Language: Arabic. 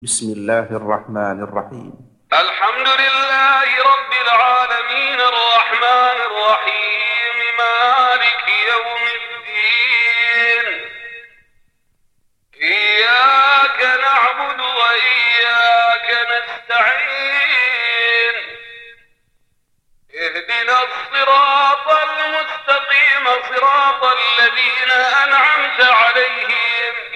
بسم الله الرحمن الرحيم. الحمد لله رب العالمين الرحمن الرحيم مالك يوم الدين. إياك نعبد وإياك نستعين. اهدنا الصراط المستقيم صراط الذين أنعمت عليهم